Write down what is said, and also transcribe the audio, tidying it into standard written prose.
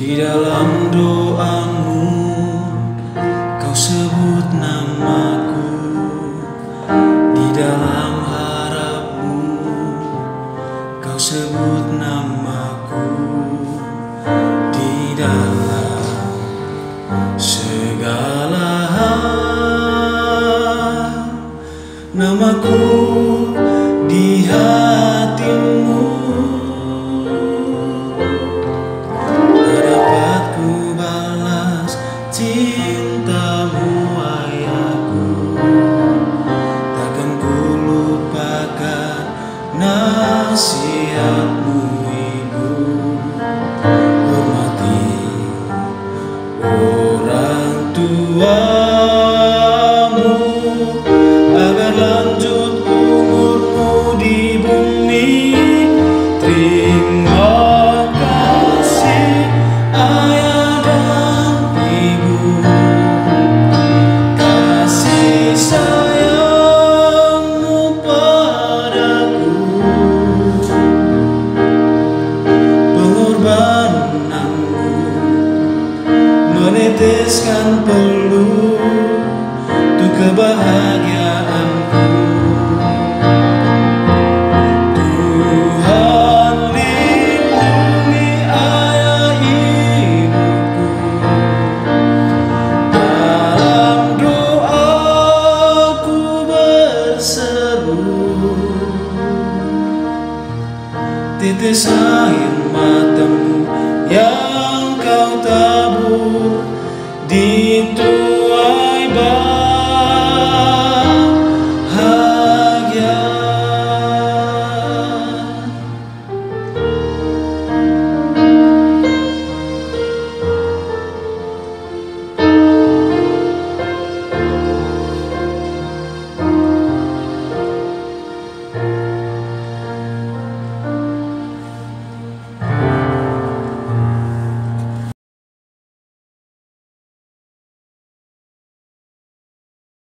Di dalam doamu kau sebut namaku, di dalam harapmu kau sebut namaku, di dalam segala hal namaku di hatimu. Cintamu ayahku, takkan ku lupakan nasihatmu ibu. Hormati orang tuamu agar lanjut umurmu di bumi. Terima kasih ayah. Sayangmu padaku, pengorbananmu meneteskan peluru untuk kebahagiaan.